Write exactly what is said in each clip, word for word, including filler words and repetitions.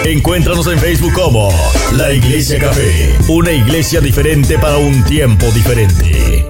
Encuéntranos en Facebook como La Iglesia Café, una iglesia diferente para un tiempo diferente.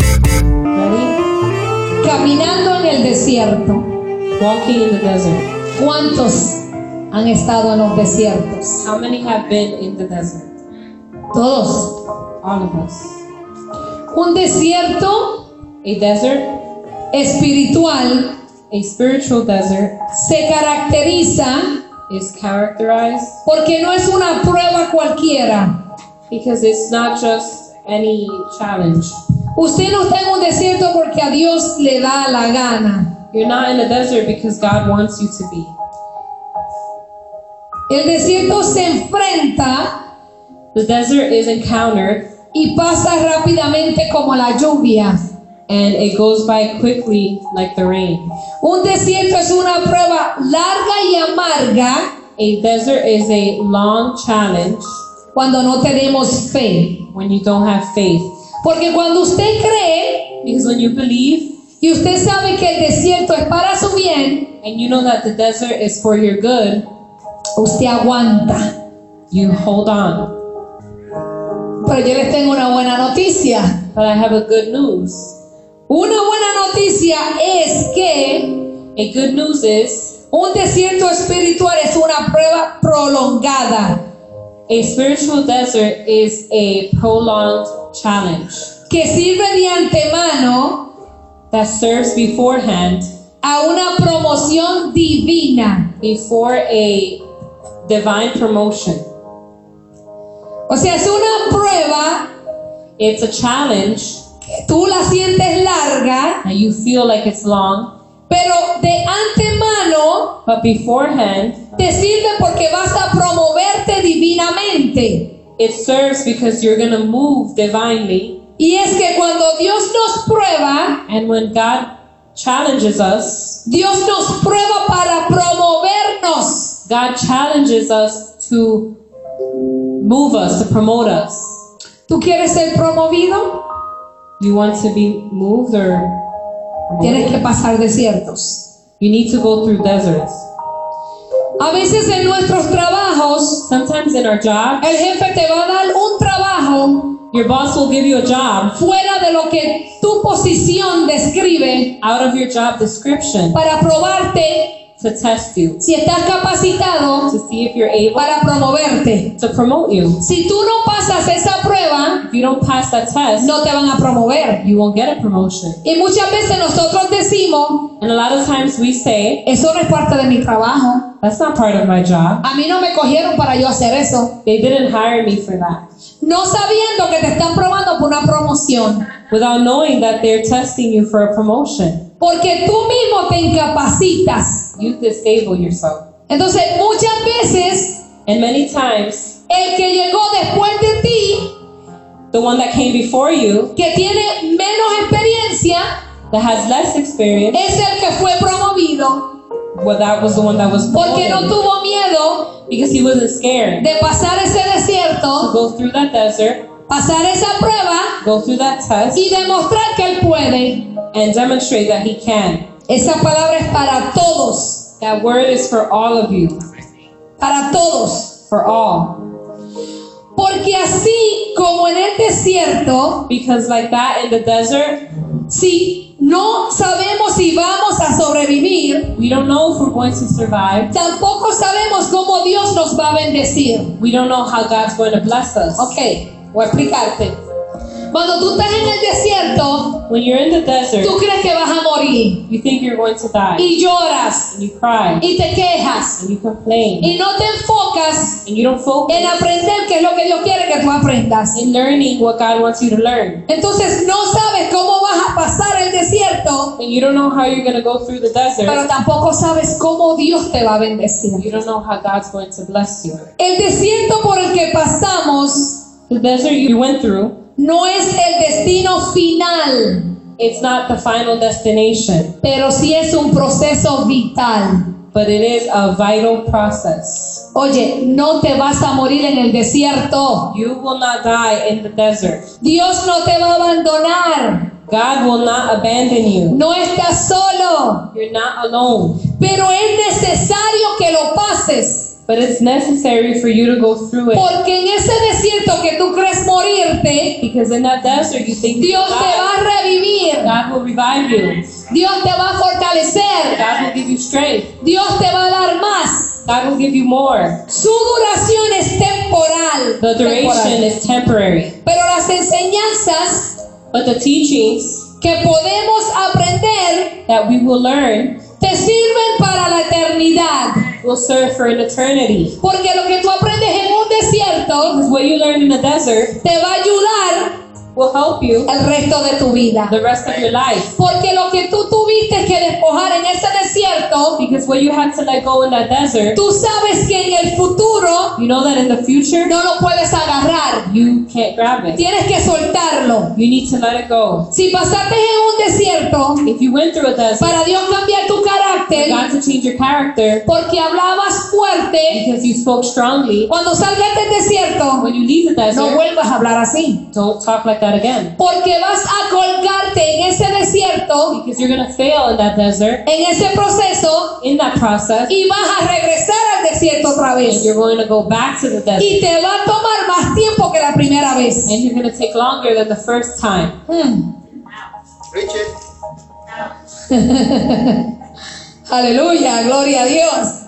Caminando en el desierto. Walking in the desert. ¿Cuántos han estado en los desiertos? How many have been in the desert? Todos. All of us. Un desierto, a desert, espiritual, a spiritual desert, se caracteriza is characterized porque no es una prueba cualquiera. Because it's not just any challenge. Usted no está en un desierto porque a Dios le da la gana. You're not in a desert because God wants you to be. El desierto se enfrenta, the desert is encountered, y pasa rápidamente como la lluvia. And it goes by quickly like the rain. Un desierto es una prueba larga y amarga. A desert is a long challenge. Cuando no tenemos fe. When you don't have faith. Porque cuando usted cree, because when you believe, y usted sabe que el desierto es para su bien, and you know that the desert is for your good, usted aguanta. You hold on. Pero yo les tengo una buena noticia. But I have a good news. Una buena noticia es que a good news is un desierto espiritual es una prueba prolongada. A spiritual desert is a prolonged challenge que sirve de antemano that serves beforehand a una promoción divina, before a divine promotion. O sea, es una prueba, it's a challenge que tú la sientes larga, and you feel like it's long, pero de antemano but beforehand te sirve porque vas a promoverte divinamente. It serves because you're going to move divinely. Y es que cuando Dios nos prueba, and when God challenges us, Dios nos prueba para promovernos. God challenges us to move us, to promote us. ¿Tú quieres ser promovido? You want to be moved or promoted? Tienes que pasar desiertos. You need to go through deserts. A veces en nuestros trabajos, sometimes in our jobs, el jefe te va a dar un trabajo, your boss will give you a job fuera de lo que tu posición describe, out of your job description, para probarte to test you, si estás capacitado to see if you're able para promoverte. to promote you. Si tú no pasas esa prueba, if you don't pass that test, no te van a promover. You won't get a promotion. Y muchas veces nosotros decimos, and a lot of times we say, eso no es parte de mi trabajo. That's not part of my job. A mí no me cogieron para yo hacer eso. They didn't hire me for that. No sabiendo que te están probando por una promoción. Without knowing that they're testing you for a promotion. Porque tú mismo te incapacitas. You disable yourself. Entonces, muchas veces, and many times, el que llegó después de ti, the one that came before you, que tiene menos experiencia, that has less experience, es el que fue promovido. Well, that was the one that was promoted. Porque no tuvo miedo, because he wasn't scared, de pasar ese desierto, to go through that desert, pasar esa prueba, go through that test, y demostrar que él puede. And demonstrate that he can. Esa palabra es para todos. That word is for all of you. Para todos. For all. Porque así como en el desierto, because like that in the desert, si no sabemos si vamos a sobrevivir, we don't know if we're going to survive. Tampoco sabemos cómo Dios nos va a bendecir. We don't know how God's going to bless us. Okay, voy a explicarte. Cuando tú estás en el desierto, when you're in the desert, tú crees que vas a morir. You think you're going to die. Y lloras. And you cry. Y te quejas. And you complain. Y no te enfocas and you don't focus en aprender qué es lo que Dios quiere que tú aprendas. In learning what God wants you to learn. Entonces no sabes cómo vas a pasar el desierto. And you don't know how you're going to go through the desert. Pero tampoco sabes cómo Dios te va a bendecir. You don't know how God's going to bless you. El desierto por el que pasamos, the desert you went through, no es el destino final. It's not the final destination. Pero sí es un proceso vital. But it is a vital process. Oye, no te vas a morir en el desierto. You will not die in the desert. Dios no te va a abandonar. God will not abandon you. No estás solo. You're not alone. Pero es necesario que lo pases. But it's necessary for you to go through it. Porque en ese desierto que tú crees morirte, Because in that desert you think you Dios te va die. a revivir. God will revive you. Dios te va a fortalecer. God will give you strength. Dios te va a dar más. God will give you more. Su duración es temporal. The duration temporal. is temporary. Pero las enseñanzas But the teachings que podemos aprender that we will learn te sirven para la eternidad. will serve for an eternity. Porque lo que tú aprendes en un desierto Because what you learn in the desert te va a ayudar will help you el resto de tu vida. the rest of your life. Porque lo que tú tuviste que despojar en ese desierto, Because what you had to let go in that desert, tú sabes que en el futuro you know that in the future, no lo puedes agarrar. you can't grab it. Tienes que soltarlo. You need to let it go. Si pasaste en un desierto, If you went through a desert, para Dios cambiar tu for carácter, God to change your character, porque hablabas fuerte, because you spoke strongly, cuando salgas del desierto, when you leave the no desert, vuelvas a hablar así. don't talk like that again. Porque vas a colgarte en ese desierto, Because you're going to fail in that desert, en ese proceso, in that process, y vas a regresar al desierto otra and vez. you're going to go back to the desert. Y te va a tomar más tiempo que la primera vez. And you're going to take longer than the first time. Hmm. Preach it. Aleluya, gloria a Dios.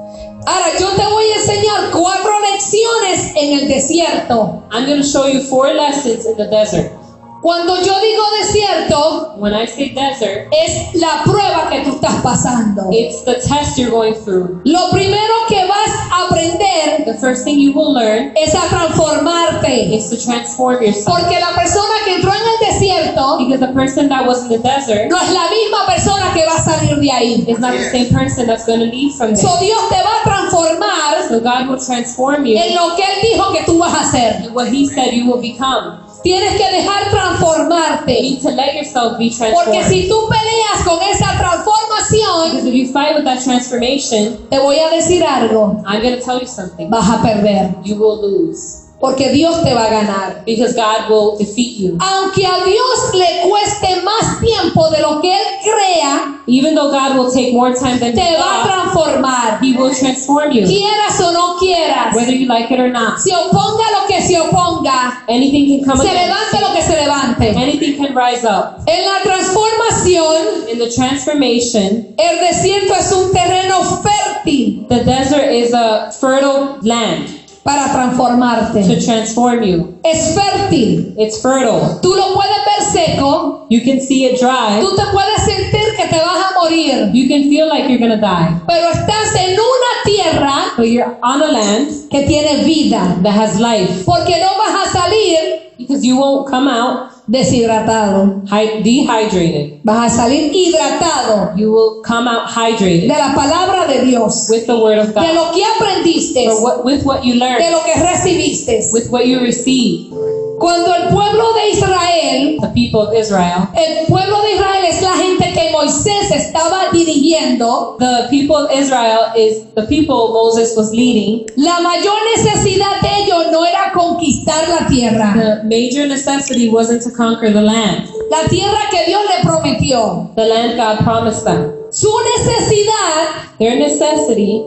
Ahora yo te voy a enseñar cuatro lecciones en el desierto. I'm going to show you four lessons in the desert. Cuando yo digo desierto, When I say desert, es la prueba que tú estás pasando. it's the test you're going through. Lo primero que vas a aprender The first thing you will learn es a transformarte. is to transform yourself. Porque la persona que entró en el desierto Because the person that was in the desert no es la misma persona que va a salir de ahí. is not the same person that's going to leave from there. So Dios te va a transformar So God will transform you en lo que Él dijo que tú vas a hacer. in what He said you will become. Tienes que dejar You transformarte. need to let yourself be Porque transformed. si tú peleas con esa transformación, Because if you fight with that transformation, te voy a decir algo, I'm going to tell you something. vas a perder. You will lose. Porque Dios te va a ganar. Because God will defeat you. Aunque a Dios le cueste más tiempo de lo que Él crea, Even though God will take more time than te you va a thought, transformar. He will transform you. Quieras o no quieras. Whether you like it or not. Se oponga lo que se oponga. Anything can come Se against levante lo que se levante. Anything can rise up. En la transformación, In the transformation, el desierto es un terreno fértil the desert is a fertile land para to transformarte. transform you. Es fértil. It's fertile. Tú lo puedes ver seco. You can see it dry. Tú te puedes sentir que te vas a morir. You can feel like you're going to die. Pero estás en una tierra But you're on a land que tiene vida. that has life. Porque no vas a salir Because you won't come out deshidratado. hy- dehydrated. Vas a salir hidratado You will come out de hydrated la palabra de Dios. with the word of De God. lo que aprendiste. For what, with what you De learned, lo que recibiste. with what you received. Cuando el pueblo de Israel, The people of Israel, el pueblo de Israel es la gente que Moisés estaba dirigiendo, the people of Israel is the people Moses was leading. la mayor necesidad de ellos no era conquistar la tierra. The major necessity wasn't to conquer the land, La tierra que Dios le prometió. the land God promised them. Su necesidad Their necessity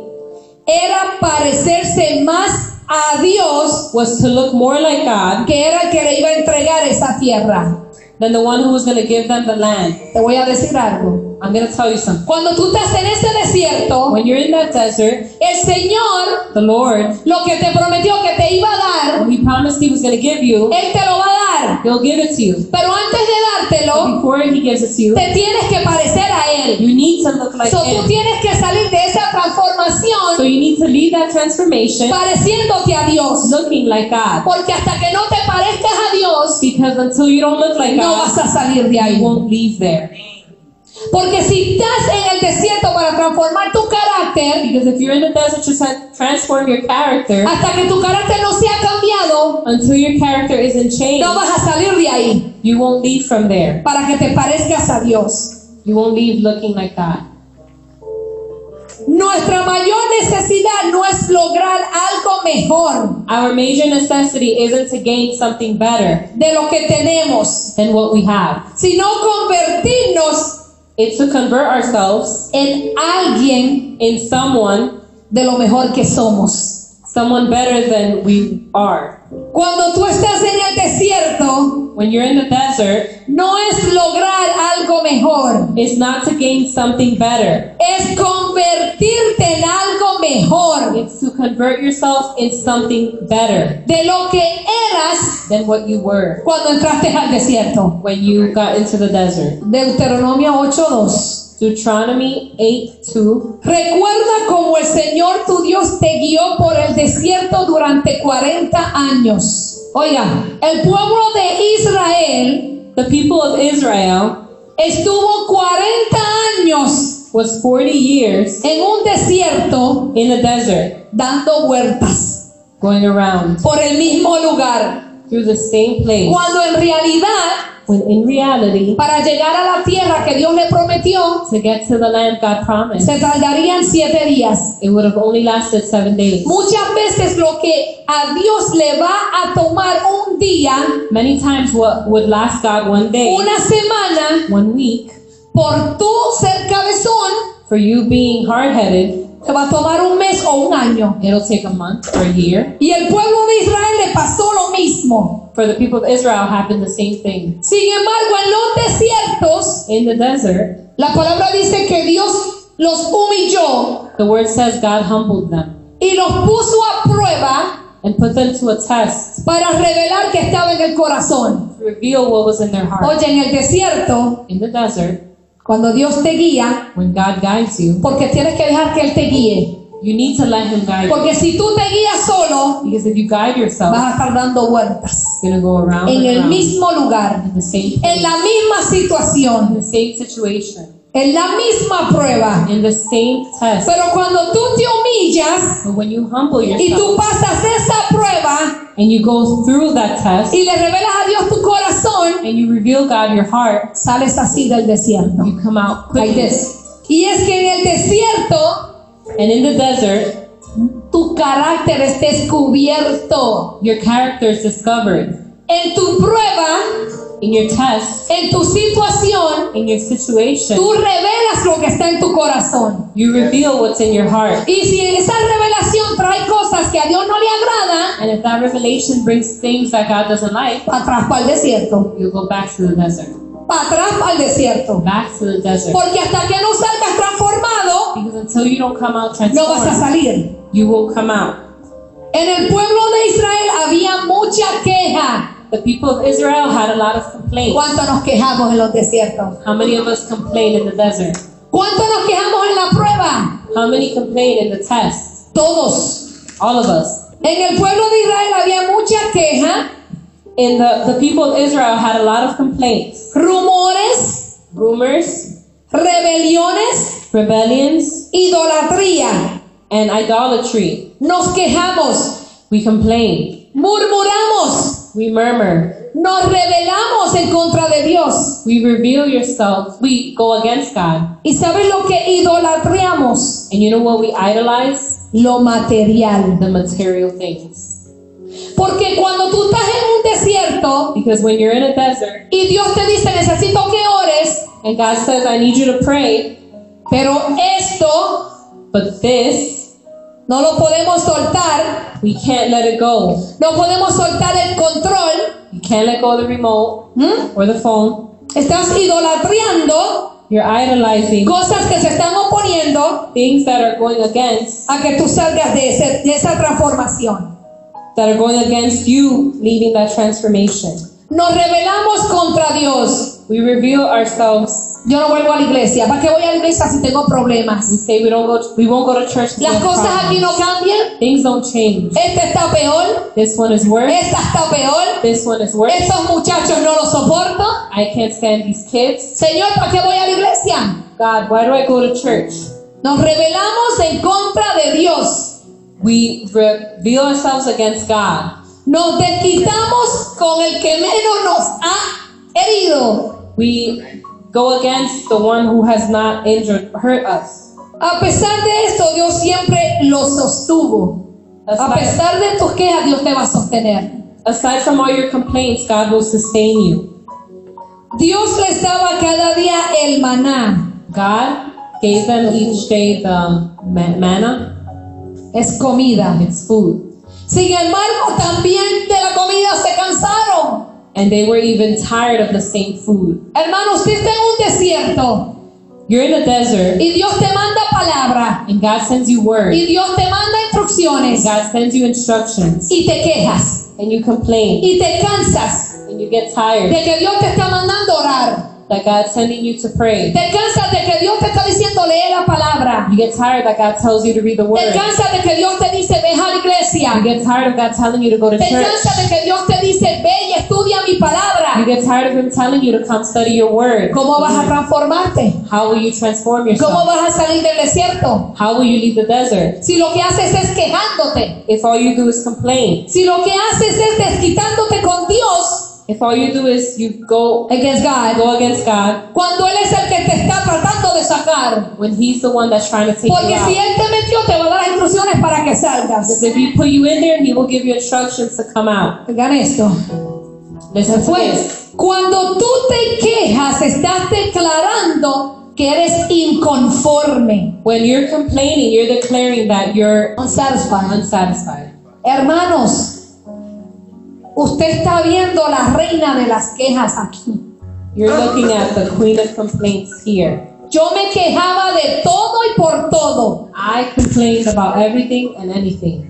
era parecerse más a Dios, was to look more like God que era el que le iba a entregar esa tierra. than the one who was going to give them the land. Te voy a decir algo. I'm going to tell you something. Cuando tú estás en ese desierto, When you're in that desert, el Señor the Lord, lo que te prometió que te iba a dar, what He promised He was going to give you, Él te lo va a dar. He'll give it to you. Pero antes de dártelo, But before He gives it to you, te tienes que parecer a Él. you need to look like So, tú Him. tienes que salir de esa So transformación you need to lead that transformation pareciéndote a Dios. looking like God. Porque hasta que no te parezcas a Dios, Because until you don't look like no vas God, a salir de you ahí. won't leave there. Porque si estás en el desierto para transformar tu carácter, Because if you're in the desert to tra- transform your character, hasta que tu carácter no sea cambiado, until your character isn't changed, no vas a salir de ahí you won't leave from there. para que te parezcas a Dios. You won't leave looking like God. Nuestra mayor necesidad no es lograr algo mejor Our major necessity isn't to gain something better de lo que tenemos, than what we have. sino convertirnos It's to convert ourselves en alguien in someone de lo mejor que somos. someone better than we are. Cuando tú estás en el desierto, When you're in the desert, no es lograr algo mejor, it's not to gain something better. es convertirte en algo mejor It's to convert yourself in something better de lo que eras than what you were cuando entraste al desierto. when you got into the desert. Deuteronomio ocho dos. Deuteronomy eight two. Recuerda cómo el Señor tu Dios te guió por el desierto durante cuarenta años. Oiga, el pueblo de Israel The people of Israel estuvo cuarenta años was forty years en un desierto in the desert, dando vueltas going around por el mismo lugar, through the same place, cuando en realidad when in reality, para llegar a la tierra que Dios le prometió to get to the land God promised, se tardarían siete días. it would have only lasted seven days. Muchas veces lo que a Dios le va a tomar un día, Many times what would last God one day, una semana, one week, por tú ser cabezón, for you being hard-headed, te va a tomar un mes o un año. it'll take a month or a year. Y el pueblo de Israel le pasó lo mismo. For the people of Israel happened the same thing. Sin embargo, en los desiertos, In the desert, la palabra dice que Dios los humilló the word says God humbled them y los puso a prueba and put them to a test para revelar que estaba en el corazón. to reveal what was in their heart. Oye, en el desierto, In the desert, cuando Dios te guía, when God guides you, porque tienes que dejar que Él te guíe. you need to let Him guide you. Porque si tú te guías solo, Because if you guide yourself, vas a estar dando vueltas you're going to go around en and el around mismo lugar, in the same en place, la misma in situación, the same situation, en la misma prueba. in the same test. Pero cuando tú te humillas But when you humble y tú yourself pasas esa prueba and you go through that test y le revelas a Dios tu corazón, and you reveal God your heart, sales así del desierto. you come out Like quickly. this. Y es que en el desierto And in the desert, tu carácter es descubierto. your character is discovered. En tu prueba, In your test, en tu situación, in your situation, tú revelas lo que está en tu corazón. you reveal what's in your heart. Y si esa revelación trae cosas que a Dios no le agrada, And if that revelation brings things that God doesn't like, para atrás para el desierto. you go back to the desert. Para atrás para el desierto. Back to the desert. Porque hasta que no salgas transformado, Because until you don't come out no vas a transformed, salir. you won't come out. En el pueblo de Israel había mucha queja. The people of Israel had a lot of complaints. ¿Cuánto nos quejamos en los desiertos? How many of us complain in the desert? ¿Cuánto nos quejamos en la prueba? How many complain in the test? Todos. All of us. En el pueblo de Israel había mucha queja, In the, the people of Israel had a lot of complaints. rumores, Rumors, rebeliones, rebellions, idolatría. and idolatry. Nos quejamos, We complain. murmuramos, We murmur. nos rebelamos en contra de Dios. We reveal yourselves. We go against God. ¿Y sabes lo que idolatramos? And you know what we idolize? Lo material. The material things. Porque cuando tú estás en un desierto Because when you're in a desert y Dios te dice necesito que ores, and God says, I need you to pray, pero esto but this, no lo podemos soltar, we can't let it go. no podemos soltar el control. You can't let go of the remote ¿Mm? or the phone. Estás idolatriando You're idolizing cosas que se están oponiendo things that are going against, a que tú salgas de, ese- de esa transformación. that are going against you leaving that transformation. Nos rebelamos contra Dios. We reveal ourselves. Yo no vuelvo a la iglesia. ¿Para qué voy a la iglesia si tengo We problemas? say we don't go. To, we won't go to church. 'cause we Las have cosas aquí no problems. cambian. Things don't change. Este está peor. This one is worse. Esta está peor. This one is worse. Estos muchachos no los soporto. I can't stand these kids. Señor, ¿para qué voy a la iglesia? God, why do I go to church? Nos rebelamos en contra de Dios. We reveal ourselves against God. Nos desquitamos con el que menos nos ha herido. We go against the one who has not injured, hurt us. A pesar de esto, Dios siempre lo sostuvo. A Aside, pesar de tus quejas, Dios te va a sostener. aside from all your complaints, God will sustain you. Dios les daba cada día el maná. God gave them each day the ma- manna. es comida. It's food. Sin embargo, también de la comida se cansaron. And they were even tired of the same food. Hermano, usted está en un desierto You're in a desert y Dios te manda palabra and God sends you word. y Dios te manda instrucciones God sends you instructions y te quejas and you complain y te cansas and you get tired de que Dios te está mandando orar. that God's sending you to pray. Te cansas de que Dios te está diciendo lee la palabra. You get tired that God tells you to read the Te word. cansas de que Dios te dice ve a la iglesia. You get tired of God telling you to go to Te church. cansas de que Dios te dice ve y estudia mi You palabra. get tired of Him telling you to come study your word. ¿Cómo vas a transformarte? How will you transform ¿Cómo yourself? vas a salir del desierto? How will you leave the desert? Si lo que haces es quejándote, If all you do is complain. si lo que haces es desquitándote con Dios, If all you do is you go against God, go against God cuando Él es el que te está tratando de sacar. when He's the one that's trying to take you Porque si out. Él te metió, te va a dar instrucciones para que salgas. Because if He put you in there, He will give you instructions to come out. Oigan esto. Listen to this. Después, cuando tú te quejas, estás declarando que eres inconforme. When you're complaining, you're declaring that you're Unsatisfied. unsatisfied. Hermanos, usted está viendo la reina de las quejas aquí. You're looking at the queen of complaints here. Yo me quejaba de todo y por todo. I complained about everything and anything.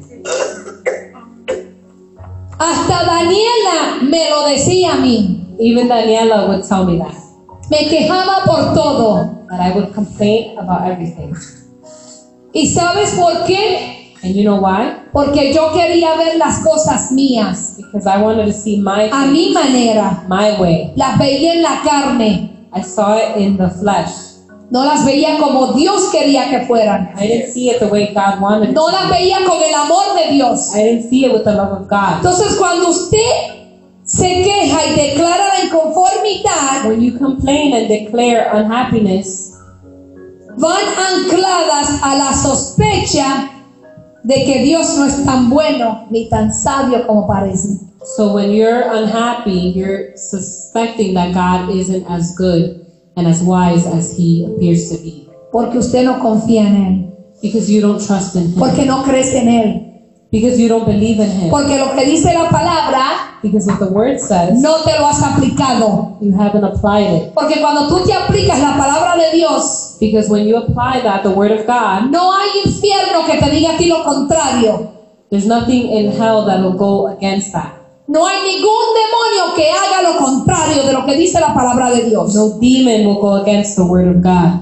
Hasta Daniela me lo decía a mí. Even Daniela would tell me that. Me quejaba por todo. That I would complain about everything. ¿Y sabes por qué? And you know why? Porque yo quería ver las cosas mías Because I wanted to see my a mi manera. my way. Las veía en la carne. I saw it in the flesh. No las veía como Dios quería que fueran. I didn't see it the way God wanted it. No las veía con el amor de Dios. I didn't see it with the love of God. Entonces, cuando usted se queja y declara la inconformidad, When you complain and declare unhappiness, van ancladas a la sospecha de que Dios no es tan bueno ni tan sabio como parece. so when you're unhappy, you're suspecting that God isn't as good and as wise as He appears to be. Porque usted no confía en Él. Because you don't trust in Him. Porque no crees en Él. Because you don't believe in Him. Porque lo que dice la palabra Because what the Word says, no te lo has aplicado. you haven't applied it. Porque cuando tú te aplicas la palabra de Dios, Because when you apply that, the Word of God, no hay infierno que te diga a ti lo contrario. there's nothing in hell that will go against that. No hay ningún demonio que haga lo contrario de lo que dice la palabra de Dios. No demon will go against the Word of God.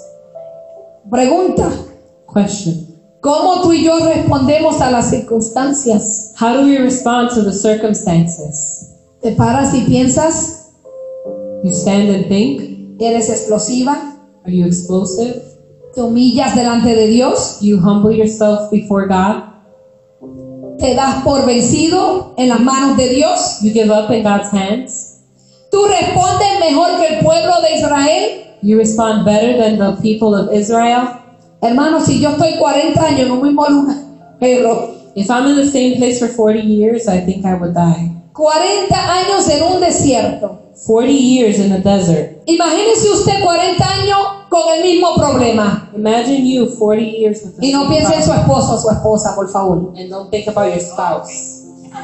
Pregunta, Question. ¿cómo tú y yo respondemos a las circunstancias? How do we respond to the circumstances? ¿Te paras y piensas? You stand and think? ¿Eres explosiva? Are you explosive? ¿Te humillas delante de Dios? You humble yourself before God? ¿Te das por vencido en las manos de Dios? You give up in God's hands? ¿Tú respondes mejor que el pueblo de Israel? You respond better than the people of Israel? Hermano, si yo estoy cuarenta años en un mismo lugar, pero If I'm in the same place for forty years, I think I would die. cuarenta años en un desierto. forty years in the desert. Imagínese usted cuarenta años con el mismo problema. Imagine you forty years with the Y no same piense en su problem. esposo o su esposa, por favor. And don't think about your spouse.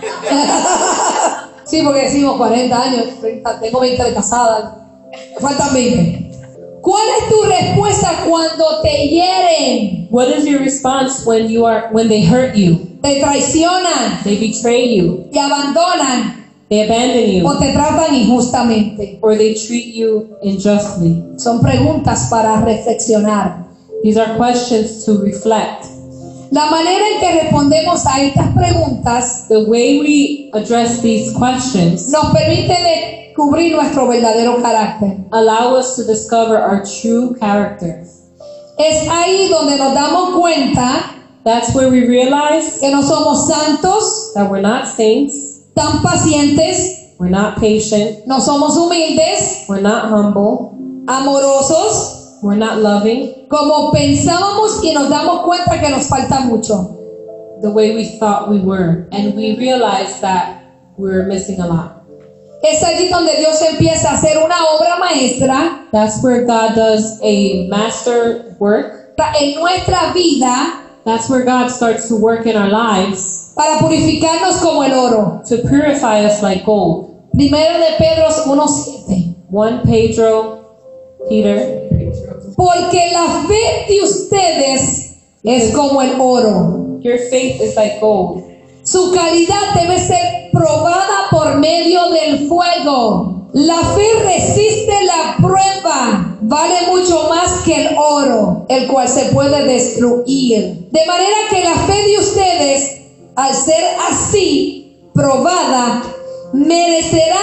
Sí, porque decimos cuarenta años, treinta, tengo veinte de casada, me faltan veinte. ¿Cuál es tu respuesta cuando te hieren, What is your response when you are when they hurt you, te traicionan, they betray you, te abandonan they abandon o you, te tratan injustamente? or they treat you unjustly? Son preguntas para reflexionar. These are questions to reflect. La manera en que respondemos a estas preguntas The way we address these questions nos permite descubrir nuestro verdadero carácter. allow us to discover our true character. Es ahí donde nos damos cuenta That's where we realize que no somos santos, that we're not saints, tan pacientes, we're not patient, no somos humildes, we're not humble, amorosos, we're not loving, como pensábamos, y nos damos cuenta que nos falta mucho. the way we thought we were, and we realize that we're missing a lot. Es allí donde Dios empieza a hacer una obra maestra That's where God does a master work en nuestra vida That's where God starts to work in our lives para purificarnos como el oro. to purify us like gold. Primero de Pedro uno siete. First Pedro, Peter. Porque la fe de ustedes es como el oro. Your faith is like gold. Su calidad debe ser probada por medio del fuego. La fe resiste la prueba. Vale mucho más que el oro, el cual se puede destruir. De manera que la fe de ustedes, al ser así probada, merecerá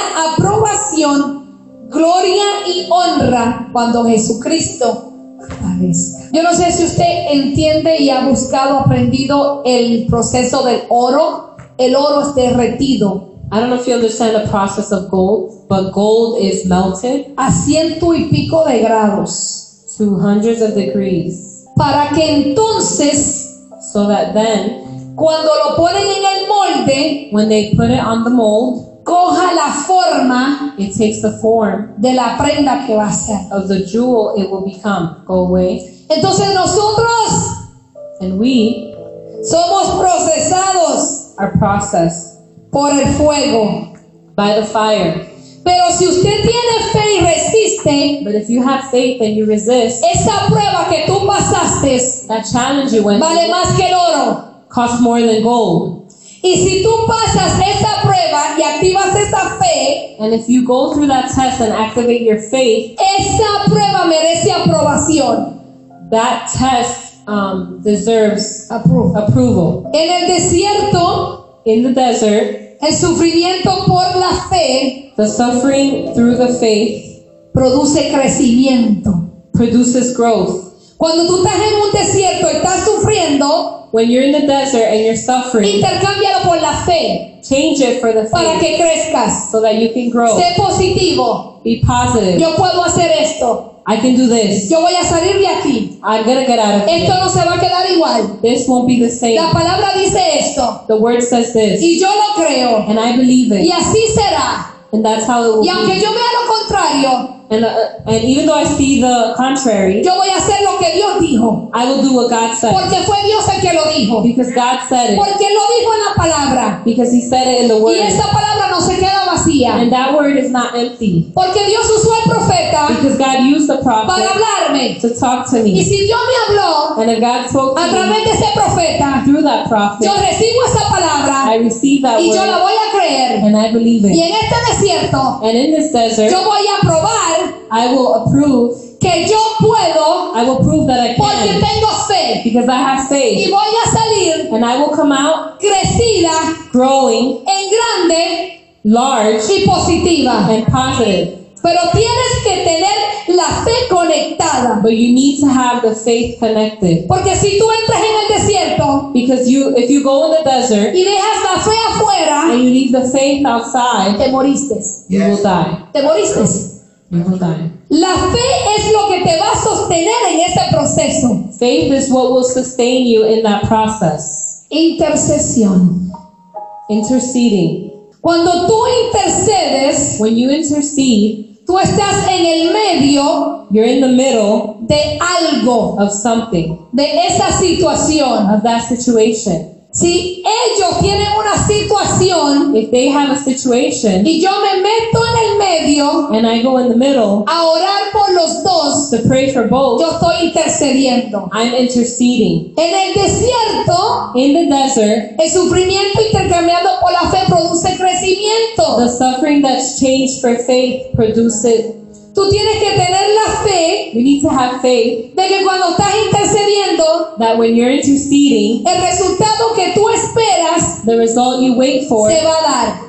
aprobación, gloria y honra cuando Jesucristo aparezca. Yo no sé si usted entiende y ha buscado, aprendido el proceso del oro. El oro es derretido I don't know if you understand the process of gold, but gold is melted a ciento y pico de grados, to hundreds of degrees, para que entonces, so that then, cuando lo ponen en el molde, when they put it on the mold, coja la forma it takes the form de la prenda que va a ser. of the jewel it will become. Go away. Entonces nosotros And we somos procesados are processed por el fuego. by the fire. Pero si usted tiene fe y resiste, But if you have faith and you resist, esa prueba que tú pasaste that challenge you went vale through más que el oro. costs more than gold. Y si tú pasas esa prueba y activas esa fe, And if you go through that test and activate your faith, esa prueba merece aprobación. that test um, deserves Approve. approval. En el desierto, In the desert, el sufrimiento por la fe the suffering through the faith produce crecimiento. produces growth. Cuando tú estás en un desierto y estás sufriendo, When you're in the desert and you're suffering, intercámbialo por la fe change it for the para faith que crezcas. so that you can grow. Sé positivo. Be positive. Yo puedo hacer esto. I can do this. Yo voy a salir de aquí. I'm gonna get out of Esto here. no se va a quedar igual. This won't be the same. La palabra dice esto. The word says this, Y yo lo creo. and I believe Y it, así será. and that's how it will Y aunque be. yo vea lo contrario, And uh, and even though I see the contrary, yo voy a hacer lo que Dios dijo. I will do what God said, Porque fue Dios el que lo dijo. because God said it, Porque Él lo dijo en la palabra. because He said it in the Y word, esa palabra no se queda vacía. and that word is not empty, Porque Dios usó al profeta because God used the para prophet hablarme. to talk to Y me, si Dios me habló and if God spoke a to través me de ese profeta, through that prophet, yo recibo esa palabra I receive that y yo la word, voy a creer. and I believe Y it. en este desierto, And in this desert, yo voy a probar I will approve, que yo puedo I will prove that I porque can, tengo fe. because I have Y faith, voy a salir and I will come out crecida, growing, en grande large, y positiva. and positive. Pero tienes que tener la fe conectada. But you need to have the faith connected, Porque si tú entras en el desierto because you, if you go in the desert y dejas la fe afuera, and you leave the faith outside, te moriste. you will die. Te moriste. You will die. La fe es lo que te va a sostener en ese proceso. Faith is what will sustain you in that process. Intercesión. Interceding. Cuando tú intercedes, When you intercede, tú estás en el medio you're in the middle de algo, of something, de esa situación. of that situation. Si ellos tienen una situación If they have a situation y yo me meto en el medio and I go in the middle a orar por los dos, to pray for both, yo estoy intercediendo. I'm interceding. En el desierto, In the desert, el sufrimiento intercambiado por la fe produce crecimiento. the suffering that's changed for faith produces. Tú tienes que tener la fe You need to have faith de que cuando estás intercediendo, that when you're interceding, el resultado que tú esperas the result you wait for se va a dar.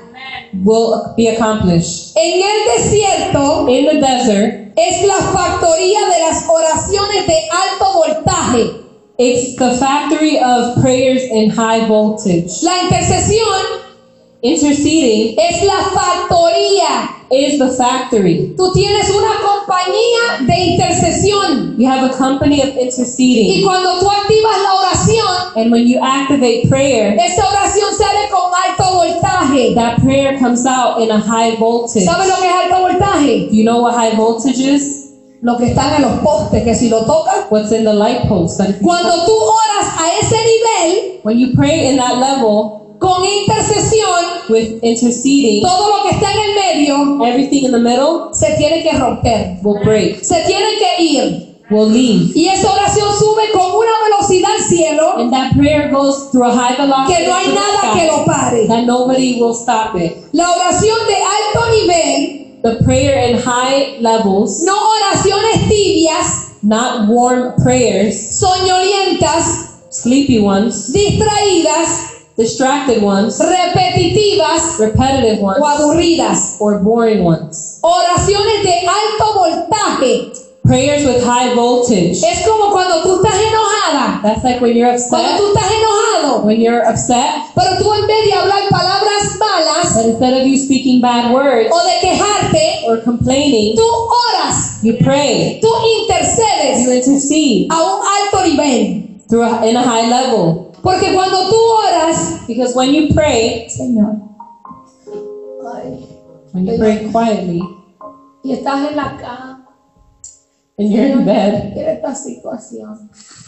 will be accomplished. En el desierto In the desert, es la factoría de las oraciones de alto voltaje. it's the factory of prayers in high voltage. La intercesión Interceding es la factoría. is the factory. Tú tienes una compañía de intercesión. You have a company of Y interceding. cuando tú activas la oración, And when you activate prayer, esa oración sale con alto voltaje. that prayer comes out in a high voltage. ¿Sabes lo que es alto voltaje? Do you know what high voltage is? Lo que están en los postes, que si lo tocas. What's in the light post? That if you Cuando tú oras a ese nivel, when you pray in that level con intercesión, with interceding, todo lo que está en el medio everything in the middle se tiene que romper, will break, se tiene que ir. will leave. Y esa oración sube con una velocidad al cielo And that prayer goes through a high velocity que no hay to the nada que sky, lo pare. that nobody will stop it. La oración de alto nivel, The prayer in high levels, no oraciones tibias, not warm prayers, soñolientas, sleepy ones, distraídas, distracted ones, repetitivas repetitive o ones, aburridas. or boring ones. Oraciones de alto voltaje. Prayers with high voltage. Es como cuando tú estás enojada, That's like when you're cuando upset. tú estás enojado, When you're upset, pero tú en vez de hablar palabras malas but instead of you speaking bad words o de quejarte, or complaining, tú oras, you pray. tú You intercedes intercede a un alto nivel. through a, in a high level. Porque cuando tú oras, Because when you pray, Señor, ay, when you pray quietly, y estás en la cama, and you're in bed, mira esta situación.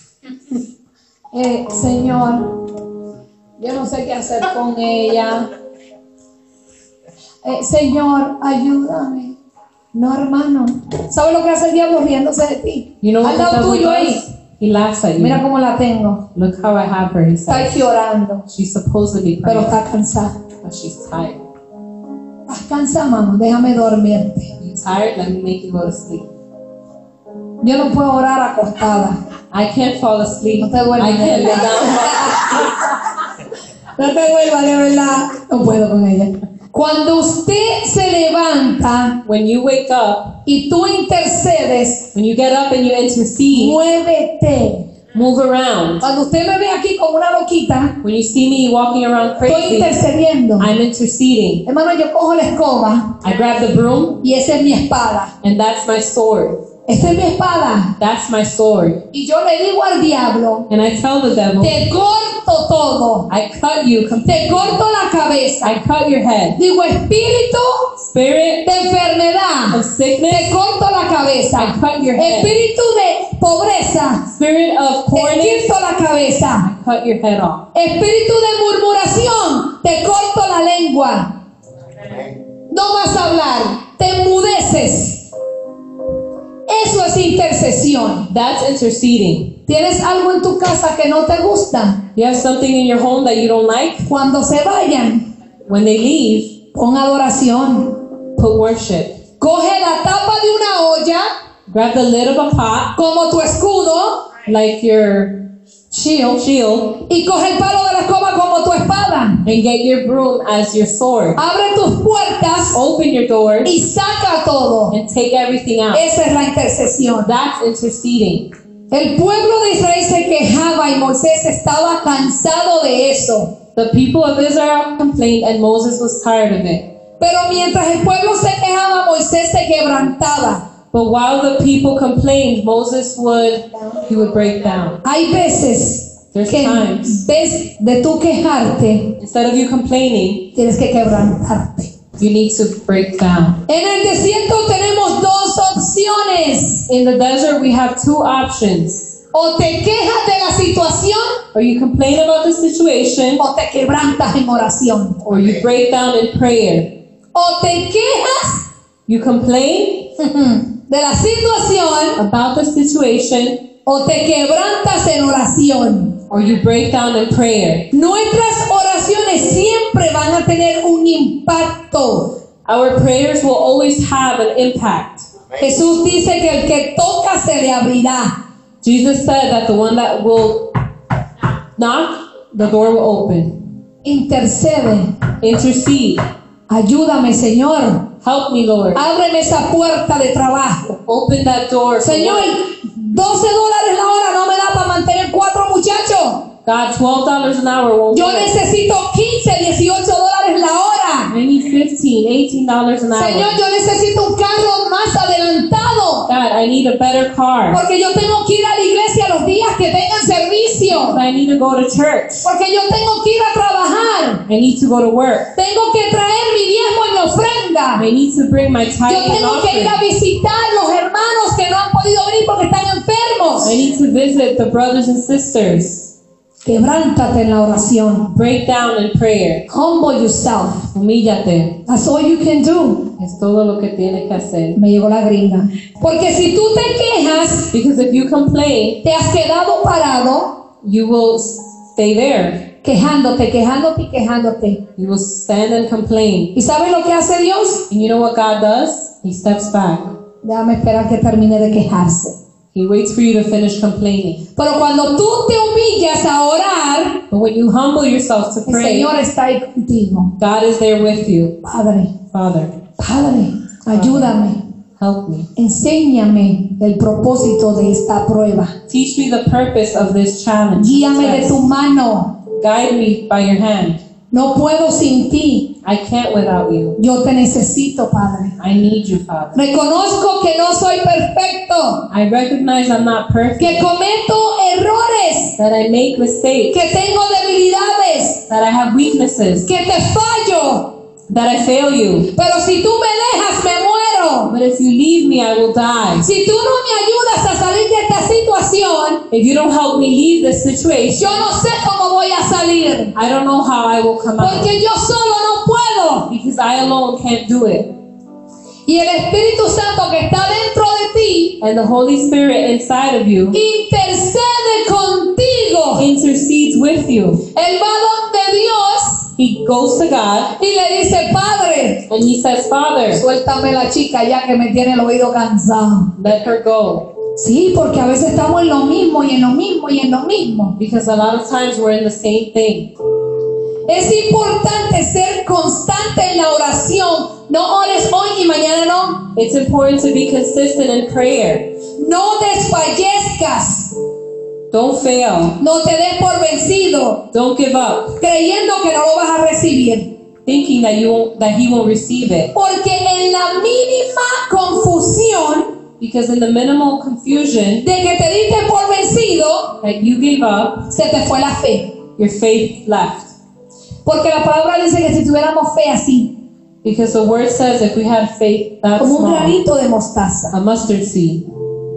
Eh, Señor, yo no sé qué hacer con ella. Eh, Señor, ayúdame. No, hermano. ¿Sabes lo que hace el diablo riéndose de ti? you know what Al the lado devil tuyo ahí. does? He laughs at Mira you. cómo la tengo. Look how I have her, he Está says. aquí orando, She's supposed to be pero praying, está cansada. but she's tired. Estás cansada, mamá. Déjame dormirte. You tired? Let me make you go to sleep. Yo no puedo orar acostada. I can't fall asleep. No te duermas, I can't de lay verdad. down. No te vuelvas, de verdad. No puedo con ella. Cuando usted se levanta When you wake up, y tú intercedes, when you get up and you intercede, muévete. move around. Cuando usted me ve aquí como una loquita, When you see me walking around estoy crazy, intercediendo. I'm interceding. Hermano, yo cojo la escoba I grab the broom, y esa es mi espada. and that's my sword. Esa es mi espada. That's my sword. Y yo le digo al diablo, And I tell the devil, te corto todo. I cut you Te completely. corto la cabeza. I cut your head. Digo, espíritu Spirit de enfermedad, of sickness, te corto la I cabeza. cut your head. Espíritu de pobreza, Spirit of te poorness, quito la cabeza. I cut your head off. Espíritu de murmuración, te corto la lengua. No vas a hablar, te enmudeces. Eso es intercesión. That's interceding. ¿Tienes algo en tu casa que no te gusta? You have something in your home that you don't like? Cuando se vayan, When they leave, pon adoración. put worship. Coge la tapa de una olla Grab the lid of a pot, como tu escudo like your shield, shield, y coge el palo de la escoba como tu espada. and get your broom as your sword. Abre tus puertas Open your doors y saca todo. and take everything out. Esa es la intercesión. That's interceding. El pueblo de Israel se quejaba y Moisés estaba cansado de eso. The people of Israel complained and Moses was tired of it. Pero mientras el pueblo se quejaba, Moisés se quebrantaba. But while the people complained, Moses would, he would break down. Hay veces There's que times. en vez de tú quejarte, Instead of you complaining, tienes que quebrantarte. you need to break down. En el desierto tenemos dos opciones. In the desert, we have two options. O te quejas de la situación Or you complain about the situation, o te quebrantas en oración. or you break down in prayer. O te quejas You complain de la situación about the situation, o te quebrantas en oración. or you break down in prayer. Nuestras oraciones siempre van a tener un impacto. Our prayers will always have an impact. Jesús dice que el que toca se le abrirá. Jesus said that the one that will knock, the door will open. Intercede. Intercede. Ayúdame, Señor. Help me, Lord. Ábreme esa puerta de trabajo. Open that door. for Señor, work. doce dólares la hora no me da para mantener cuatro muchachos. God, twelve dollars an hour won't Yo work. necesito quince, dieciocho dólares la hora. I need fifteen, eighteen dollars an hour. Señor, yo necesito un carro más adelantado. God, I need a better car. Porque yo tengo que ir a la iglesia los días que tengan servicio. I need to go to church. Porque yo tengo que ir a trabajar. I need to go to work. Tengo que traer mi diezmo y mi ofrenda. I need to bring my Yo tithe and tengo que ir a offering. visitar los hermanos que no han podido venir porque están enfermos. I need to visit the brothers and sisters. Quebrántate en la oración. Break down in prayer. Humble yourself. Humíllate. That's all you can do. Es todo lo que tienes que hacer. Me llegó la gringa. Porque si tú te quejas, Because if you complain, te has quedado parado, you will stay there. quejándote, quejándote y quejándote. You will stand and complain. ¿Y sabes lo que hace Dios? And you know what God does? He steps back. Déjame esperar que termine de quejarse. He waits for you to finish complaining. Pero cuando tú te humillas a orar, But when you humble yourself to el pray, Señor está ahí contigo. God is there with you. Padre, Father, Padre, ayúdame. help me. Enséñame el propósito de esta prueba. Teach me the purpose of this challenge. Guíame de Yes. tu mano. Guide me by your hand. No puedo sin ti. I can't without you. Yo te necesito, Padre. I need you, Father. Reconozco que no soy perfecto, I recognize I'm not perfect, que cometo errores, that I make mistakes, que tengo debilidades, that I have weaknesses, que te fallo. that I fail you. Pero si tú me dejas, me muero. But if you leave me, I will die. Si tú no me ayudas a salir de esta situación, If you don't help me leave this situation, yo no sé cómo voy a salir. I don't know how I will come out. Porque yo solo no puedo. Because I alone can't do it. Y el Espíritu Santo que está dentro de ti And the Holy Spirit inside of you intercede contigo. intercedes with you. Él va donde Dios He goes to God y le dice, Padre, and he says, Father, suéltame la chica ya que me tiene el oído cansado. let her go. Sí, porque a veces estamos en lo mismo y en lo mismo y en lo mismo. Because a lot of times we're in the same thing. Es importante ser constante en la oración. No ores hoy y mañana no. It's important to be consistent in prayer. No desfallezcas. Don't fail. No te des por vencido, Don't give up, creyendo que no lo vas a recibir. thinking that you won't, that he won't receive it. Porque en la mínima confusión Because in the minimal confusion de que te diste por vencido, that you gave up, se te fue la fe. your faith left. Porque la palabra dice que si tuviéramos fe así, Because the word says if we had faith that como un small, granito de mostaza. a mustard seed.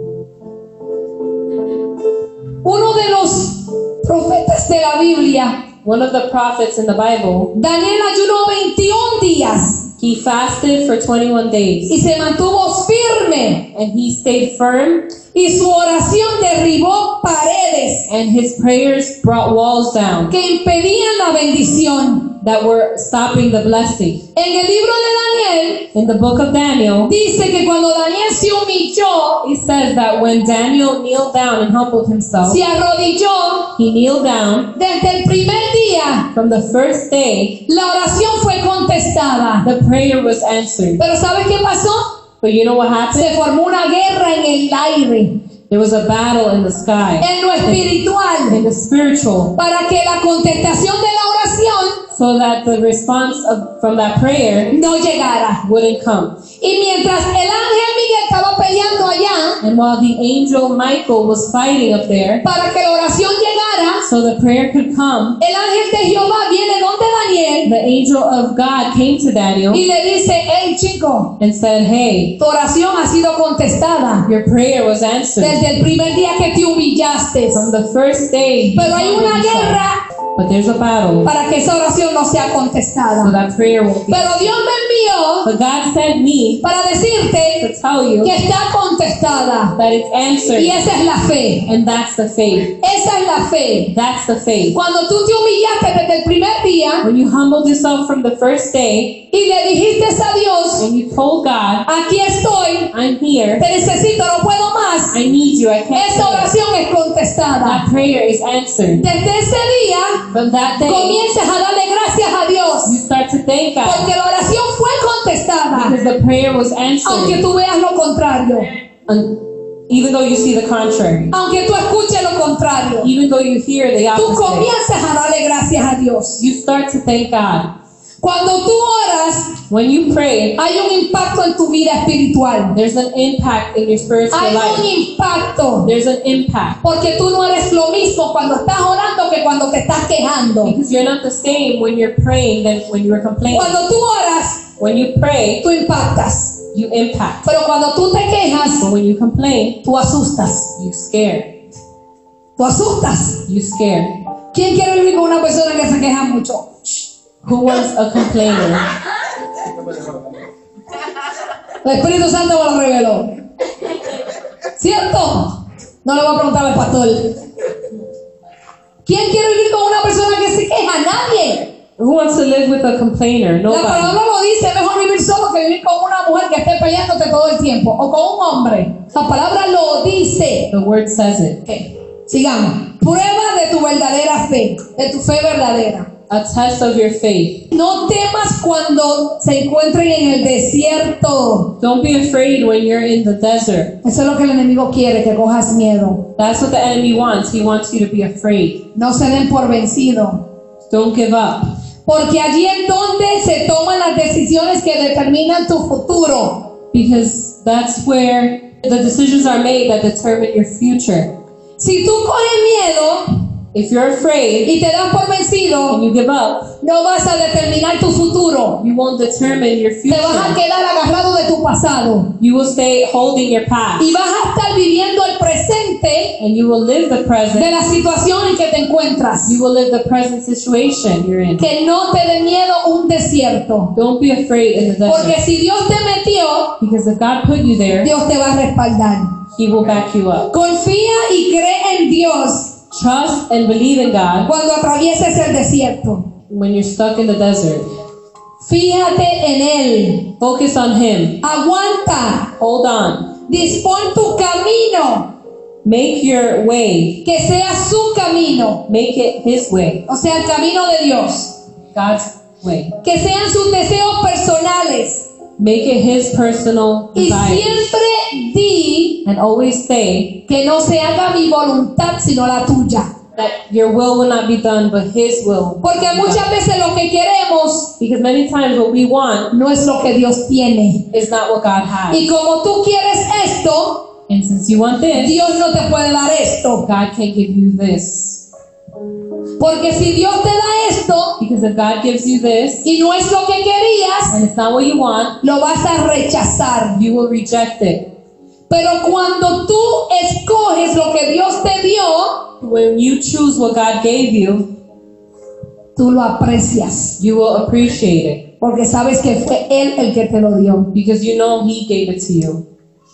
Uno de los profetas de la Biblia, One of the prophets in the Bible, Daniel, ayunó veintiún días he fasted for twenty-one days y se mantuvo firme, and he stayed firm, y su oración derribó paredes and his prayers brought walls down que impedían la bendición. that were stopping the blessing. En el libro de Daniel In the book of Daniel, dice que cuando Daniel se humilló, it says that when Daniel kneeled down and humbled himself, se arrodilló, he kneeled down. desde el primer día From the first day, la oración fue contestada. the prayer was answered. Pero ¿sabes qué pasó? But you know what happened? Se formó una guerra en el aire, There was a battle in the sky, en lo espiritual, in the spiritual, para que la contestación de la oración so that the response of, from that prayer no llegara. wouldn't come. Y mientras el ángel Miguel estaba peleando allá And while the angel Michael was fighting up there, para que la oración llegara, so the prayer could come, el ángel de Jehová viene donde Daniel the angel of God came to Daniel y le dice, hey chico, and said, hey, tu oración ha sido contestada your prayer was answered desde el primer día que te humillaste. from the first day. you Pero hay humbled una yourself. guerra But there's a battle, para que esa oración no sea so contestada. that prayer won't be. Pero Dios me envió But God sent me para to decirte tell you que está contestada. that it's answered, Y esa es la fe. and that's the faith. Esa es la fe. That's the faith. Cuando tú te humillaste desde el primer día When you humbled yourself from the first day y le dijiste a Dios, and you told God, aquí estoy, I'm here, te necesito, no puedo más. I need you, I can't Esa do it. oración es contestada. That prayer is answered. Desde ese día From that day, comienzas a darle gracias a Dios you start to thank God porque la oración fue contestada, because the prayer was aunque answered, tú veas lo contrario, un- even though you see the contrary, aunque tú escuches lo contrario, even though you hear the tú opposite. comienzas a darle gracias a Dios. You start to thank God. Cuando tú oras, When you pray, hay un impacto en tu vida espiritual. there's an impact in your spiritual Hay un life. impacto. There's an impact Porque tú no eres lo mismo cuando estás orando que cuando te estás quejando. because you're not the same when you're praying than when you were complaining. Cuando tú oras, When you pray, tú impactas. you impact. Pero cuando tú te quejas, But when you complain, tú asustas. you scare. Tú asustas. You scare. ¿Quién quiere vivir con una persona que se queja mucho? Who wants a complainer? El Espíritu Santo me lo reveló. ¿Cierto? No le voy a preguntar al pastor. ¿Quién quiere vivir con una persona que se queja? Nadie. Who wants to live with a complainer? La Nobody. palabra lo dice, mejor vivir solo que vivir con una mujer que esté peleándote todo el tiempo, o con un hombre. La palabra lo dice. The word says it. Okay. Sigamos. Prueba de tu verdadera fe, de tu fe verdadera. A test of your faith. No temas cuando se encuentren en el desierto. Don't be afraid when you're in the desert. Eso es lo que el enemigo quiere, que cojas miedo. That's what the enemy wants. He wants you to be afraid. No se den por vencido. Don't give up. Porque allí es donde se toman las decisiones que determinan tu futuro. Because that's where the decisions are made that determine your future. Si tú coges miedo If you're afraid y te das por vencido, and you give up, no vas a determinar tu futuro. you won't determine your Te vas a future. quedar agarrado de tu pasado. You will stay holding your past. Y vas a estar viviendo el presente And you will live the de present. la situación en que te encuentras. You will live the present situation you're in. Que no te dé miedo un desierto. Don't be afraid in the Porque desert. si Dios te metió, Because if God put you there, Dios te va a respaldar. He will back you up. Confía y cree en Dios Trust and believe in God cuando atravieses el desierto. when you're stuck in the desert. Fíjate en Él. Focus on Him. Aguanta. Hold on. Dispón tu camino. Make your way. Que sea su camino. Make it His way. O sea, el camino de Dios. God's way. Que sean sus deseos personales. Make it His personal Y desire. siempre di And always say que no se haga mi voluntad sino la tuya. that your will will not be done, but His will. Porque will be muchas done. veces lo que queremos Because many times what we want no es lo que Dios tiene. is not what God has. Y como tú quieres esto, And since you want this, Dios no te puede dar esto. God can't give you this. Porque si Dios te da esto Because if God gives you this y no es lo que querías, and it's not what you want, lo vas a rechazar. you will reject it. Pero cuando tú escoges lo que Dios te dio, When you choose what God gave you, tú lo aprecias. you will appreciate it Porque sabes que fue Él el que te lo dio. because you know He gave it to you.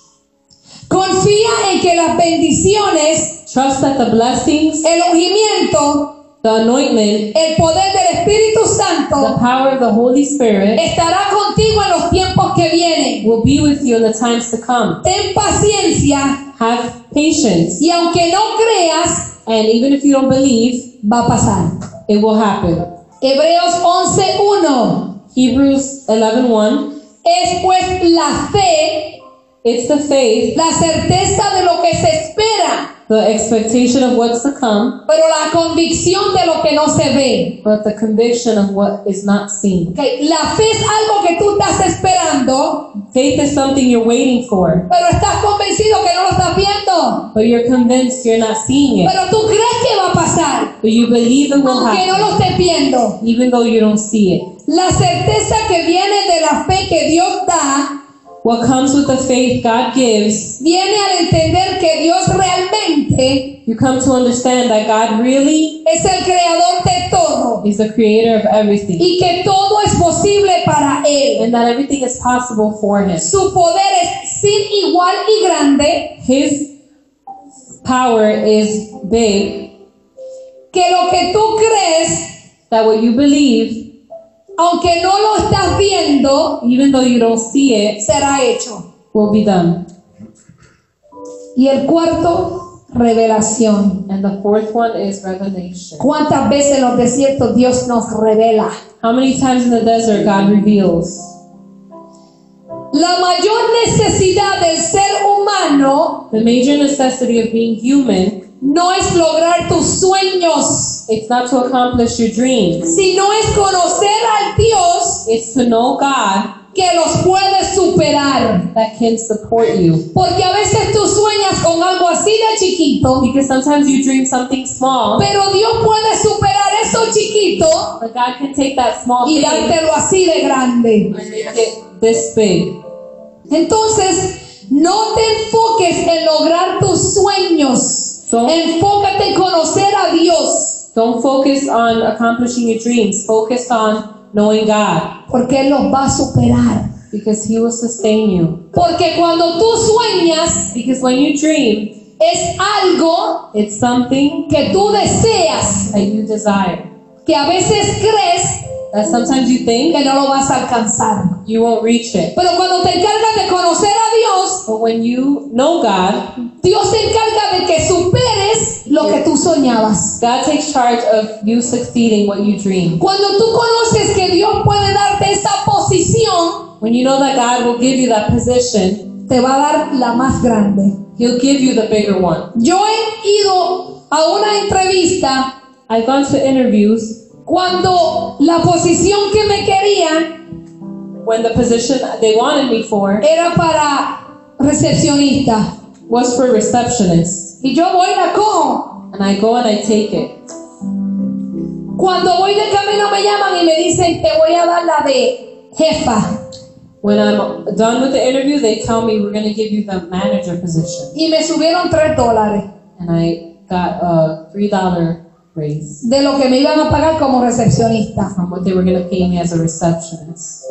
Confía en que las bendiciones, Trust that the blessings, el ungimiento, the anointment, el poder del Espíritu the Santo power of the Holy Spirit estará contigo en los tiempos que vienen. will be with you in the times to come. Ten paciencia Have patience, y aunque no creas, and even if you don't believe, va a pasar. it will happen. Hebreos once uno. Hebrews eleven one. Es pues la fe, It's the faith, la certeza de lo que se espera, the expectation of what's to come, pero la convicción de lo que no se ve. but the conviction of what is not seen. Okay, la fe es algo que tú estás esperando, Faith is something you're waiting for, pero estás convencido que no lo estás viendo. but you're convinced you're not seeing it. Pero tú crees que va a pasar, But you believe it will aunque no lo happen, estés viendo. even though you don't see it. La certeza que viene de la fe que Dios da, What comes with the faith God gives, viene al entender que Dios realmente you come to understand that God really es el creador de todo is the creator of everything, y que todo es posible para Él. and that everything is possible for Him. Su poder es sin igual y grande, His power is big, que lo que tú crees, that what you believe, aunque no lo estás viendo, even though you don't see it, será hecho. will be done. Y el cuarto, revelación. And the fourth one is revelation. ¿Cuántas veces en los desiertos Dios nos revela? How many times in the desert God reveals? La mayor necesidad del ser humano The major necessity of being human, no es lograr tus sueños, it's not to accomplish your dreams. sino es conocer al Dios It's to know God que los puede superar. that can support you. Porque a veces tú sueñas con algo así de chiquito, Because sometimes you dream something small, pero Dios puede superar eso chiquito but God can take that small y thing dártelo así de grande. and make it this big. Entonces, no te enfoques en lograr tus sueños. Don't, Enfócate en conocer a Dios. Don't focus on accomplishing your dreams. Focus on knowing God, porque Él los va a superar. because He will sustain you. Porque cuando tú sueñas, Because when you dream, es algo it's something que tú deseas, that you desire. que a veces crees That sometimes you think que no lo vas a alcanzar. you won't reach it. Pero cuando te encargas de conocer a Dios, But when you know God, Dios se encarga de que superes lo que tú soñabas. God takes charge of you succeeding what you dream. Cuando tú conoces que Dios puede darte esa posición, When you know that God will give you that position, te va a dar la más grande. He'll give you the bigger one. Yo he ido a una entrevista I've gone to interviews cuando la posición que me querían when the position they wanted me for era para recepcionista. was for receptionist. Y yo voy y la cojo. And I go and I take it. Cuando voy de camino me llaman y me dicen, te voy a dar la de jefa. When I'm done with the interview, they tell me we're going to give you the manager position. Y me subieron tres dólares And I got a three dollar raise de lo que me iban a pagar como recepcionista. from what they were going to pay me as a receptionist.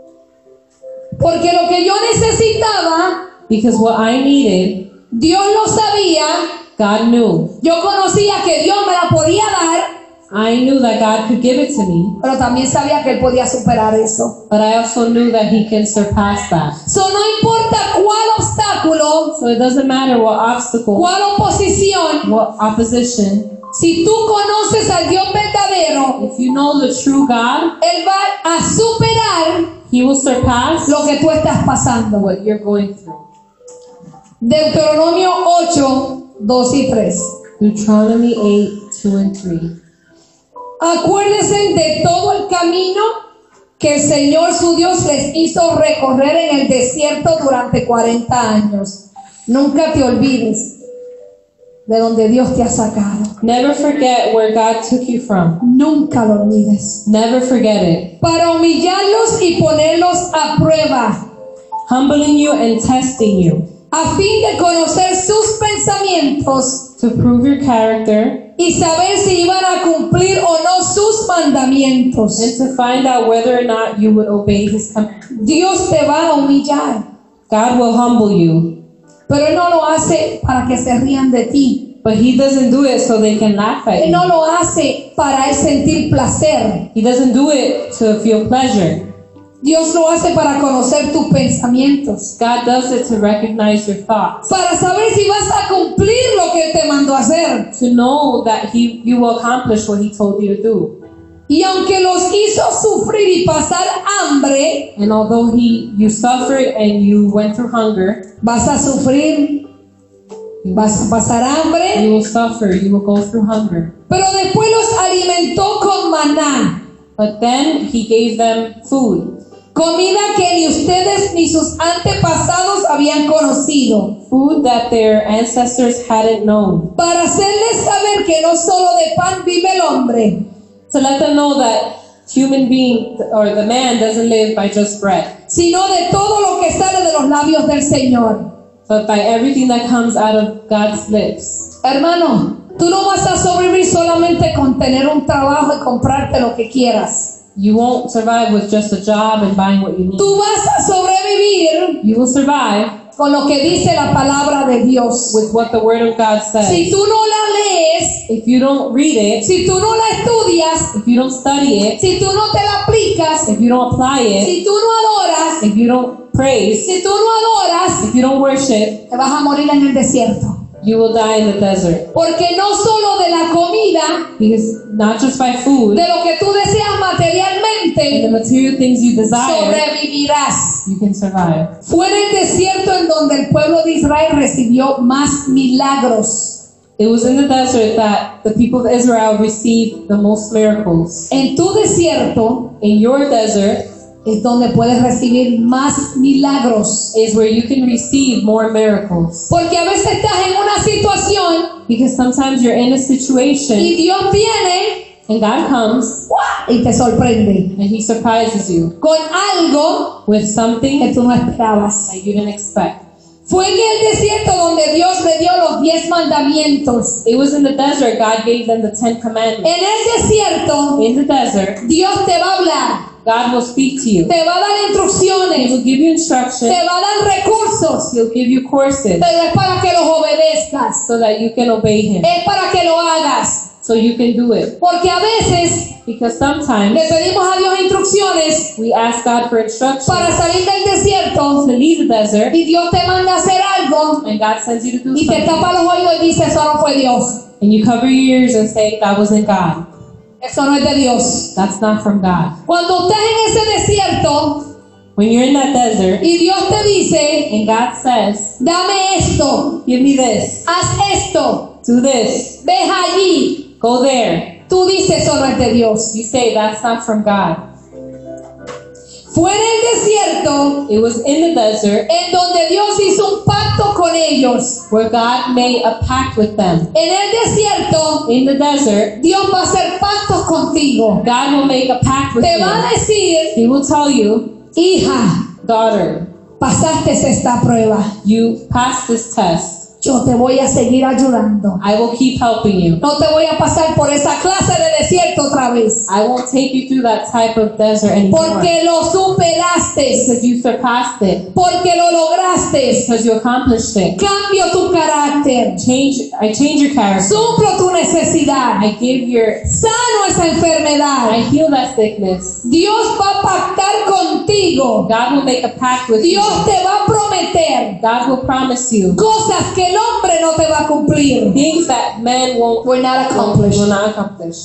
Porque lo que yo necesitaba, Because what I needed, Dios lo sabía. God knew. Yo conocía que Dios me la podía dar, I knew that God could give it to me, pero también sabía que Él podía superar eso. but I also knew that He can surpass that. So, no importa cuál obstáculo, So it doesn't matter what obstacle, cuál oposición, what opposition, si tú conoces al Dios verdadero, if you know the true God, Él va a superar He will surpass lo que tú estás pasando. what you're going through. Deuteronomio ocho, dos y tres. Deuteronomy eight, two and three. Acuérdense de todo el camino que el Señor su Dios les hizo recorrer en el desierto durante cuarenta años. Nunca te olvides de donde Dios te ha sacado. Never forget where God took you from. Nunca lo olvides. Never forget it. Para humillarlos y ponerlos a prueba, Humbling you and testing you a fin de conocer sus pensamientos to prove your character y saber si iban a cumplir o no sus mandamientos. and to find out whether or not you would obey His command. Dios te va a humillar, God will humble you, pero Él no lo hace para que se rían de ti. but He doesn't do it so they can laugh at Él no you. lo hace para Él sentir placer. He doesn't do it to feel pleasure. Dios lo hace para conocer tus pensamientos, God does it to recognize your thoughts, para saber si vas a cumplir lo que Él te mandó a hacer. to know that He you will accomplish what He told you to do. Y aunque los hizo sufrir y pasar hambre, And although He you suffered and you went through hunger, vas a sufrir, vas a pasar hambre, you will suffer, you will go through hunger. pero después los alimentó con maná, But then He gave them food, comida que ni ustedes ni sus antepasados habían conocido, food that their ancestors hadn't known, para hacerles saber que no solo de pan vive el hombre, to let them know that human being or the man doesn't live by just bread, sino de todo lo que sale de los labios del Señor. but by everything that comes out of God's lips. Hermano, tú no vas a sobrevivir solamente con tener un trabajo y comprarte lo que quieras. You won't survive with just a job and buying what you need. Tú vas a sobrevivir You will survive con lo que dice la palabra de Dios. with what the Word of God says. Si tú no la lees, If you don't read it, si tú no la estudias, if you don't study it, si tú no te la aplicas, if you don't apply it, si tú no adoras, if you don't praise, si tú no adoras, if you don't worship, te vas a morir en el desierto. you will die in the desert. Porque no solo de la comida, Because not just by food de lo que tú deseas and the materialmente, material things you desire, sobrevivirás. you can survive. Fue en el desierto en donde el pueblo de Israel recibió más milagros. It was in the desert that the people of Israel received the most miracles. En tu desierto In your desert es donde puedes recibir más milagros. is where you can receive more miracles. Porque a veces estás en una situación Because sometimes you're in a situation y Dios viene and God comes ¡guau! Y te sorprende and He surprises you con algo with que something tú no esperabas. that you didn't expect. Fue en el desierto donde Dios le dio los diez mandamientos. It was in the desert God gave them the Ten Commandments. En el desierto, In the desert, Dios te va a hablar, God will speak to you. te va a dar He instrucciones, will give you te instruction. va a dar recursos, He'll give you courses pero es para que los obedezcas, so that you can obey Him, es para que lo hagas. so you can do it. Porque a veces Because sometimes le pedimos a Dios instrucciones we ask God for instruction para salir del to desierto leave the desert, y Dios te manda a hacer algo and God sends you to do y te something, tapa los oídos y dice, eso no fue Dios, and you cover your ears and say that wasn't God. eso no es de Dios. That's not from God. Cuando estás en ese desierto When you're in that desert y Dios te dice, and God says, dame esto, give me this, haz esto, do this, ves allí, go there, tú dices, eso no es de Dios. you say that's not from God. Fue en el desierto It was in the desert en donde Dios hizo un pacto con ellos. where God made a pact with them. En el desierto, In the desert, Dios va a hacer pactos contigo. God will make a pact with Te va a you. decir, He will tell you, hija, daughter, pasaste esta prueba. you passed this test. Yo te voy a seguir ayudando. I will keep helping you. No te voy a pasar por esa clase de desierto otra vez. I won't take you through that type of desert anymore. Porque lo superaste. Because you surpassed it. Porque lo lograste. Because you accomplished it. Cambio tu carácter. Change. I change your character. Suplo tu necesidad. I give your. Sano esa enfermedad. I heal that sickness. Dios va a pactar contigo. God will make a pact with you. Dios te va a prometer God will promise you cosas que el hombre no te va a cumplir. things that man won't Will not accomplish. will not accomplish.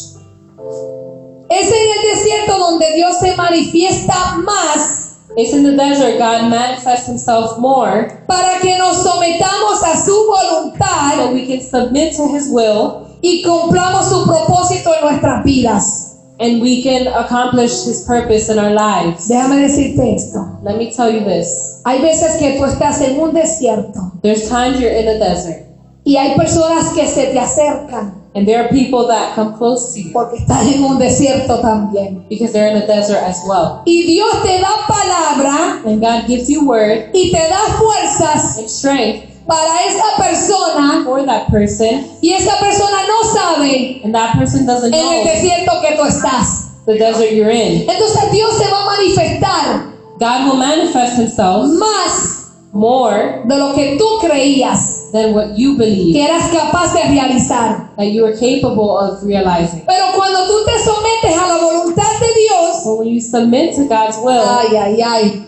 Es en el desierto donde Dios se manifiesta más It's in the desert God manifests Himself more, para que nos sometamos a su voluntad so we can submit to His will y cumplamos su propósito en nuestras vidas. and we can accomplish His purpose in our lives. Déjame decirte esto. Let me tell you this. Hay veces que tú estás en un desierto There's times you're in a desert, y hay personas que se te acercan and there are people that come close to you porque están en un desierto también. because they're in a desert as well. Y Dios te da palabra And God gives you word y te da fuerzas and strength para esa persona for that person, y esa persona no sabe and that person doesn't en el know desierto que tú estás. the desert you're in. Entonces Dios se va a manifestar God will manifest Himself más more de lo que tú creías than what you believe que eras capaz de realizar. that you are capable of realizing. Pero cuando tú te sometes a la voluntad de Dios, But when you submit to God's will, ay, ay, ay,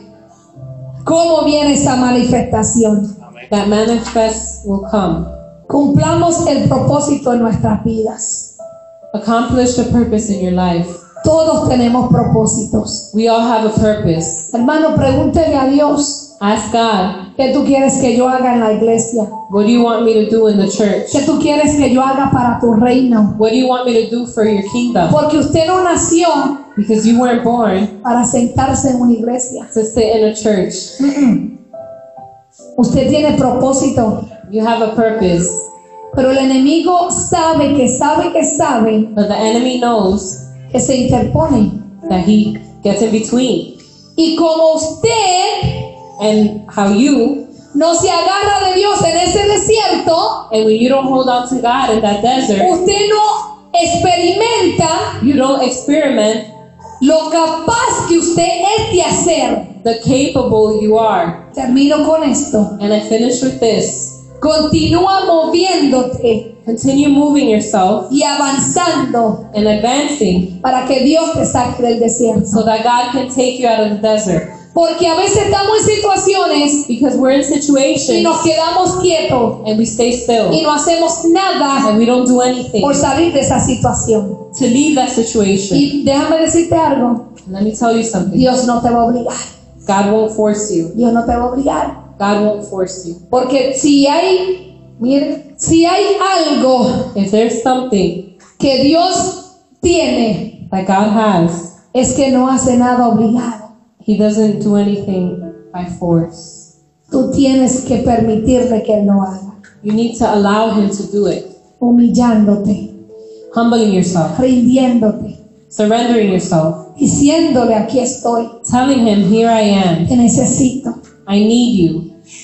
¿cómo viene esa manifestación? that manifest will come. Cumplamos el propósito en nuestras vidas. Accomplish the purpose in your life. Todos tenemos propósitos. We all have a purpose. Hermano, pregúntele a Dios, Ask God, ¿qué tú quieres que yo haga en la iglesia? what do you want me to do in the church? ¿Qué tú quieres que yo haga para tu reino? What do you want me to do for your kingdom? Porque usted no nació Because you weren't born para sentarse en una iglesia. to sit in a church. Mm-mm. Usted tiene propósito, You have a purpose. pero el enemigo sabe que sabe que sabe But the enemy knows que se interpone. that he gets in between. Y como usted And how you, no se agarra de Dios en ese desierto, and when you don't hold on to God in that desert, usted no experimenta you don't experiment lo capaz que usted es de hacer. the capable you are. Termino con esto. And I finish with this. Continúa moviéndote Continue moving yourself y avanzando and advancing para que Dios te saque del desierto. so that God can take you out of the desert. Porque a veces estamos en situaciones Because we're in y situations nos quedamos quietos and we stay y still no hacemos nada and we don't do anything por salir de esa situación. to leave that situation. Y déjame decirte algo, Let me tell you something. Dios no te va a obligar. God won't force you. Dios no te va a obligar. God won't force you. Porque si hay, mire, si hay algo If there's something que Dios tiene, that God has, es que no hace nada obligado. He doesn't do anything by force. Tú tienes que permitirle que Él lo haga, You need to allow Him to do it. humillándote, Humbling yourself, rindiéndote, surrendering yourself, diciéndole, aquí estoy, telling Him, here I am. te necesito. I need you.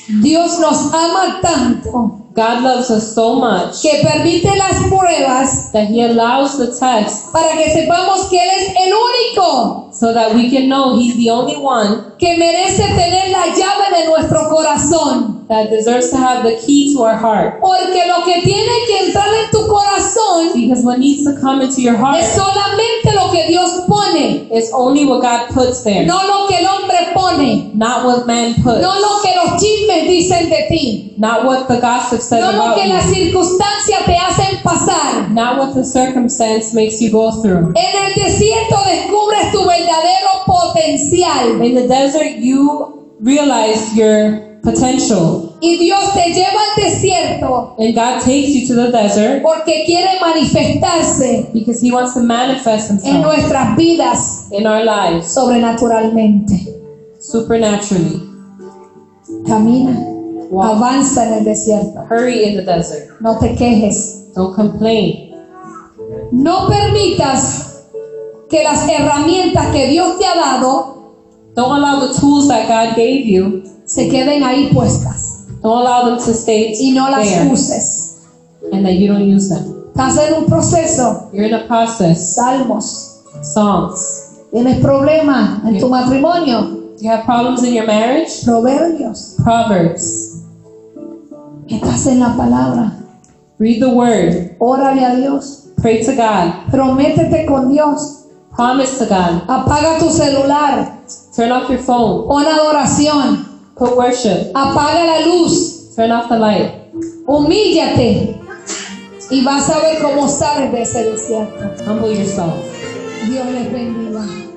Dios nos ama tanto God loves us so much que permite las pruebas that He allows the test para que sepamos que Él es el único so that we can know He's the only one que merece tener la llave de nuestro corazón. that deserves to have the key to our heart. Porque lo que tiene que entrar en tu corazón Because what needs to come into your heart es solamente lo que Dios pone, is only what God puts there, no lo que el hombre pone, not what man puts, no lo que los chismes dicen de ti, not what the gossip says no lo about que las you, circunstancias te hacen pasar. not what the circumstance makes you go through. En el desierto descubres tu verdadero potencial In the desert, you realize your potential, y Dios te lleva al desierto and God takes you to the desert porque quiere manifestarse because He wants to manifest en Himself nuestras vidas in our lives sobrenaturalmente. supernaturally. Camina, Walk. avanza en el desierto, Hurry in the desert. no te quejes. Don't complain. No permitas que las herramientas que Dios te ha dado Don't allow the tools that God gave you, se queden ahí puestas don't allow them to stay y no las there uses. and that you don't use them. Estás en un proceso, You're in a process. salmos, Songs. tienes problemas en tu matrimonio, You have problems in your marriage? proverbios, Proverbs. estás en la palabra, Read the word. órale a Dios, Pray to God. prométete con Dios, Promise to God. apaga tu celular, Turn off your phone. pon adoración, Put worship. apaga la luz, Turn off the light. humíllate y vas a ver cómo sales de ese desierto. Humble yourself. Dios les bendiga.